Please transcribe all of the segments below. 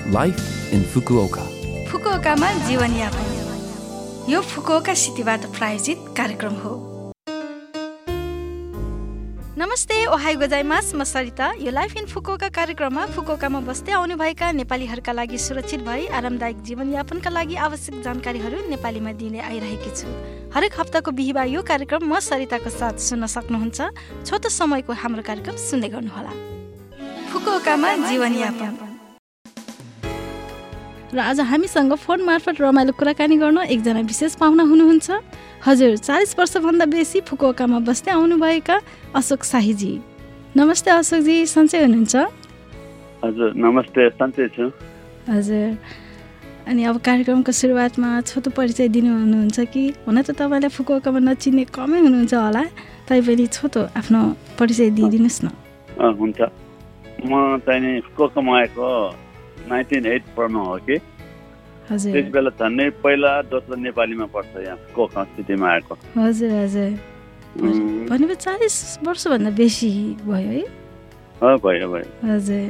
Life in Fukuoka. फुकुओकामा जीवनयापन यो Fukuoka सिटीबाट प्रायोजित कार्यक्रम हो। नमस्ते, ओहाई गोजाइमास, म सरिता। यो लाइफ इन फुकुओका कार्यक्रममा फुकुओकामा बस्दै आउनुभएका नेपालीहरूका लागि सुरक्षित भई आरामदायक जीवनयापनका लागि आवश्यक जानकारीहरू नेपालीमा दिने आइरहेकी छु। हरेक हप्ताको बिहिबार यो कार्यक्रम म सरिताको साथ सुन्न सक्नुहुन्छ। छोटो समयको हाम्रो कार्यक्रम सुन्दै गर्नुहोला। फुकुओकामा जीवनयापन। र आज हामीसँग फोन मार्फत रमाइलो कुराकानी गर्न एकजना विशेष पाहुना हुनुहुन्छ। हजुर, 40 वर्षभन्दा बेसी फुकुओकामा बस्दै आउनुभएका अशोक शाहीजी। नमस्ते अशोकजी, सन्चै हुनुहुन्छ? हजुर नमस्ते, सन्चै छु। हजुर, अनि अब कार्यक्रमको सुरुवातमा छोटो परिचय दिनुहुन्छ कि? हुन त तपाईँलाई फुकुओकामा नचिन्ने कमै हुनुहुन्छ होला, तैपनि छोटो आफ्नो परिचय दिइदिनुहोस् न। हुन्छ। म चाहिँ फुकुओकामा आएको 1984 मा हो कि। हजुर, त्यस बेला झन्डै पहिला दोस्रो नेपालीमा पर्छ यहाँ फुकुओका सिटीमा आएको। हजुर हजुर। भनेपछि 40 वर्षभन्दा बेसी भयो है? भयो भयो। हजुर,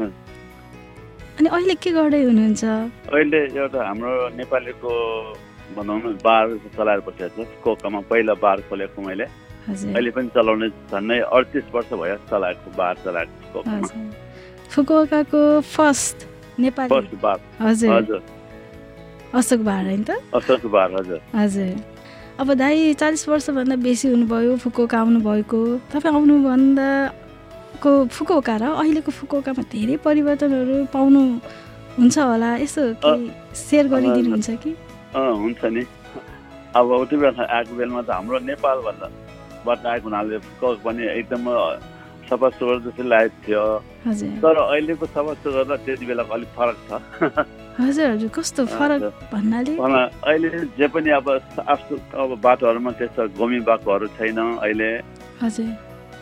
अनि अहिले के गर्दै हुनुहुन्छ? अहिले एउटा हाम्रो नेपालीको भनौँ न बार चलाएर बसेको छ फुकुओकामा। पहिला बार खोलेको मैले, अहिले पनि चलाउने झन्डै 38 वर्ष भयो चलाएको, बार चलाएको फुकुओकामा। फुकुओकाको फर्स्ट नेपाली बार। हजुर हजुर, अशोक बार होइन त? अशोक बार। हजुर हजुर। अब दाइ 40 वर्षभन्दा बेसी हुनुभयो फुकुओका आउनुभएको। तपाईँ आउनुभन्दाको फुकुओका र अहिलेको फुकुओकामा धेरै परिवर्तनहरू पाउनु हुन्छ होला, यसो सेयर गरिदिनुहुन्छ कि? हुन्छ नि। अब उति बेला आएको बेलामा त हाम्रो नेपालबाट आएको हुनाले फुकुओका पनि एकदम सफा सुग्घर जस्तो लागेको थियो। तर अहिलेको सफा सुग्घर र त्यति बेलाको अलिक फरक छ। हजुर हजुर, कस्तो फरक भन्नाले? अहिले जे पनि अब बाटोहरूमा त्यस्तो गोमी बाटोहरू छैन अहिले। हजुर।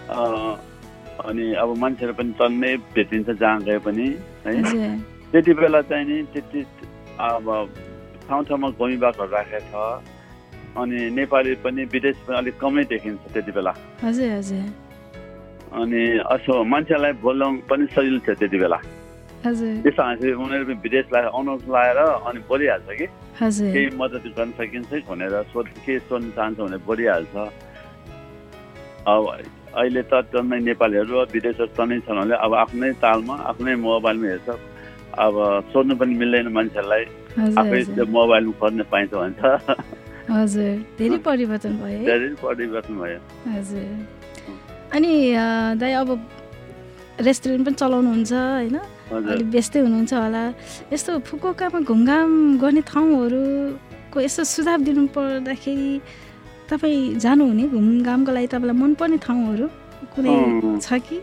अनि अब मान्छेहरू पनि तन्नै भेटिन्छ जहाँ गए पनि है। त्यति बेला चाहिँ नि त्यति अब ठाउँ ठाउँमा गोमी बाटोहरू राखेको छ। अनि नेपाली पनि विदेश पनि अलिक कमै देखिन्छ त्यति बेला। हजुर हजुर। अनि असो मान्छेलाई बोल्न पनि सजिलो थियो त्यति बेला। त्यस्तो हाँसी उनीहरू पनि विदेशलाई अनौठ लगाएर अनि बोलिहाल्छ कि केही मद्दत गर्न सकिन्छ भनेर के सोध्न चाहन्छ भनेर बोलिहाल्छ। अब अहिले त टन्नै नेपालीहरू विदेशहरू टन्नै छन् भने अब आफ्नै तालमा आफ्नै मोबाइलमा हेर्छ। अब सोध्नु पनि मिल्दैन मान्छेहरूलाई, आफै त्यो मोबाइलमा खोज्न पाइन्छ भन्छ। हजुर, धेरै परिवर्तन भयो। धेरै परिवर्तन भयो। हजुर। अनि दाइ अब रेस्टुरेन्ट पनि चलाउनुहुन्छ होइन? अलिक व्यस्तै हुनुहुन्छ होला। यस्तो फुकुओकामा घुमघाम गर्ने ठाउँहरूको यसो सुझाव दिनु पर्दाखेरि तपाईँ जानुहुने घुमघामको लागि तपाईँलाई मनपर्ने ठाउँहरू कुनै छ कि?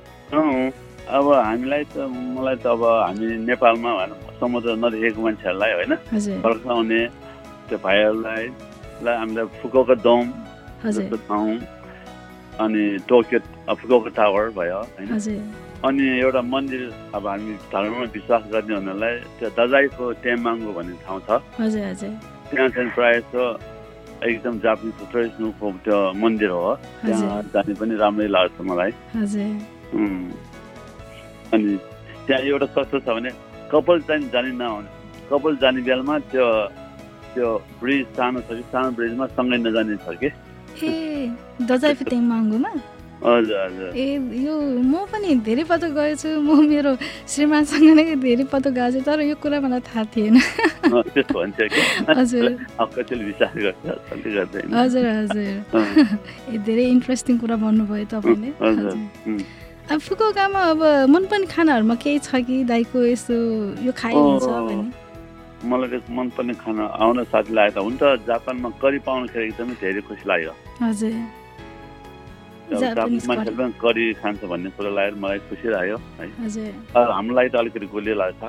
अब हामीलाई त मलाई त अब हामी नेपालमा समुद्र नदेखेको मान्छेहरूलाई होइन फर्काउने त्यो भाइहरूलाई हामीलाई फुकुओका डोम जस्तो ठाउँ, अनि टोकियो फुकुओका टावर भयो होइन। अनि एउटा मन्दिर अब हामी धर्ममा विश्वास गर्ने हुनालाई त्यो दजाईको टेम्बाङ्गो भन्ने ठाउँ छ। त्यहाँ चाहिँ प्रायः जस्तो एकदम जापानिज ट्रेडिसनलको त्यो मन्दिर हो। त्यहाँ जाने पनि राम्रै लाग्छ मलाई। अनि त्यहाँ एउटा कस्तो छ भने कपाल चाहिँ जाने नहुने, कपाल जाने बेलामा त्यो ब्रिज सानो छ कि सानो ब्रिजमा सँगै नजाने छ कि। ए, दजाईको टेम्बाङ्गोमा? हजुर हजुर। ए, यो म पनि धेरै पटक गएछु। म मेरो श्रीमानसँग नै धेरै पटक गएको छु, तर यो कुरा मलाई थाहा थिएन। त्यस्तो भन्छ कि? हजुर। कतिले विश्वास गर्छ, कति गर्दैन। हजुर हजुर। धेरै इन्ट्रेस्टिङ कुरा भन्नुभयो तपाईँले। अब फुकुओकामा अब मनपर्ने खानाहरूमा केही छ कि दाइको यसो यो खाइन्छ भने? मलाई मनपर्ने खाना आउन साथी लागेको हुन्छ। जापानमा करी पाउनुखेरि एकदमै धेरै खुसी लाग्यो। हजुर। जापानिज मान्छेले पनि करी खान्छ भन्ने कुरा लागेर मलाई खुसी लाग्यो है। हाम्रो लागि त अलिकति गुलियो लाग्छ।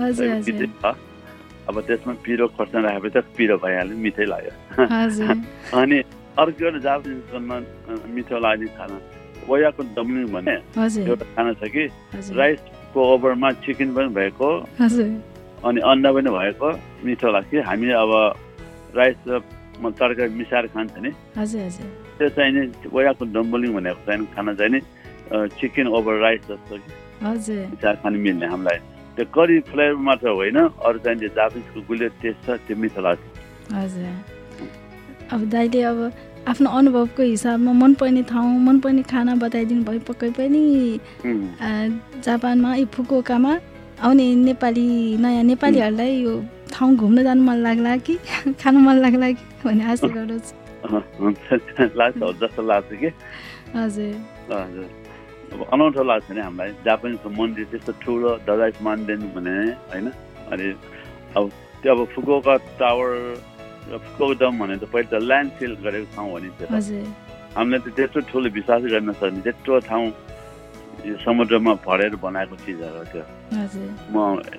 अब त्यसमा पिरो खोर्सानी राखेपछि त पिरो भइहाल्यो, मिठै लाग्यो। अनि अर्को एउटा जापानिजको मिठो लाग्ने खाना ओयाको डम्लिङ भन्ने एउटा खाना छ कि, राइसको ओभरमा चिकन पनि भएको अनि अन्डा पनि भएको, मिठो लाग्छ। हामी अब राइस र तरकारी मिसाएर खान्छ नि, त्यो चाहिँ नि ओयाको डम्बलिङ भनेको चाहिँ खाना चाहिँ नि चिकन ओभर राइस जस्तो कि मिसाएर खानु मिल्ने हामीलाई। त्यो करी फ्लेभर मात्र होइन, अरू चाहिँ जापानिजको गुलियो टेस्ट छ, त्यो मिठो लाग्छ। हजुर, अब दाइले अब आफ्नो अनुभवको हिसाबमा मनपर्ने ठाउँ, मनपर्ने खाना बताइदिनु भयो। पक्कै पनि जापानमा फुकुओकामा आउने नयाँ नेपालीहरूलाई यो ठाउँ घुम्न जानु मन लाग्ला कि खानु मन लाग्ला कि भन्ने आशा गर्छु। लाग्छ जस्तो लाग्छ कि। हजुर हजुर, अब अनौठो लाग्छ नि हामीलाई। जापानिजको मन्दिर त्यस्तो ठुलो ददाइस मान्दैन भने होइन। अनि अब त्यो अब फुकुओका टावर र फुकुओका डम भने त पहिले त ल्यान्ड सिल गरेको ठाउँ हो नि। हामीले त त्यत्रो ठुलो विश्वास गर्न सक्ने त्यत्रो ठाउँ यो समुद्रमा भरेर बनाएको चिजहरू हो त्यो। म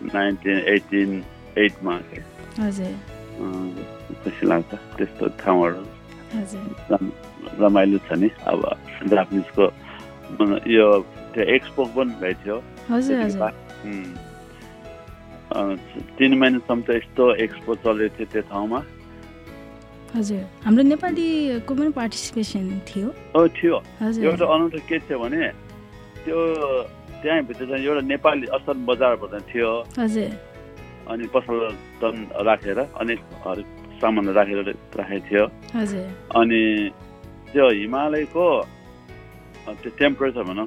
1988 मा खुसी लाग्छ त्यस्तो ठाउँहरू। रमाइलो छ नि। अब जापानिजको यो त्यो एक्सपो पनि भएको थियो। 3 महिनासम्म त यस्तो एक्सपो चलेको थियो त्यो ठाउँमा। हजुर, हाम्रो नेपालीको पनि पार्टिसिपेसन थियो। थियो। एउटा अनौठो के थियो भने त्यो त्यहाँभित्र चाहिँ एउटा नेपाली असल बजारबाट थियो। हजुर, अनि पसल राखेर अनेक सामान राखेको थियो। हजुर, अनि त्यो हिमालयको त्यो टेम्परेचर भनौँ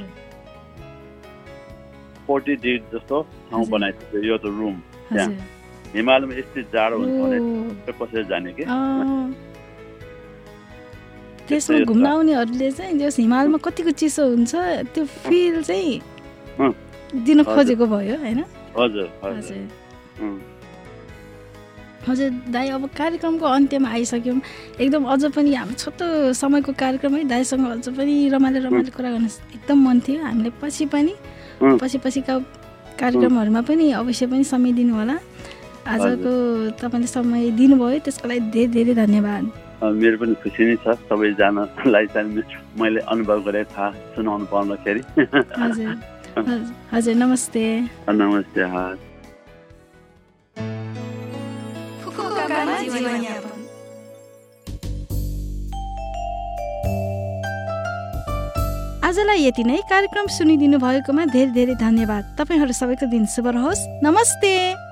-40 डिग्री जस्तो ठाउँ बनाएको थियो यो त रुम। त्यहाँ हिमालयमा यस्तै जाडो हुन्छ भने पसेर जाने कि। त्यसमा घुम्न आउनेहरूले चाहिँ जस हिमालमा कतिको चिसो हुन्छ त्यो फिल चाहिँ दिन खोजेको भयो होइन। हजुर हजुर दाइ, अब कार्यक्रमको अन्त्यमा आइसक्यौँ। एकदम अझ पनि हाम्रो छोटो समयको कार्यक्रम है, दाइसँग अझ पनि रमाइलो कुरा गर्न एकदम मन थियो। हामीले पछिका कार्यक्रमहरूमा पनि अवश्य पनि समय दिनु होला। आजको तपाईँले समय दिनुभयो त्यसको लागि धेरै धेरै धन्यवाद। मेरो पनि खुसी नै छ सबैजनालाई चाहिँ मैले अनुभव गरेँ थाहा सुनाउनु पाउँदाखेरि। हजुर नमस्ते। नमस्ते। आजलाई यति नै। कार्यक्रम सुनिदिनु भएकोमा धेरै धेरै धन्यवाद। तपाईँहरू सबैको दिन शुभ रहोस्। नमस्ते।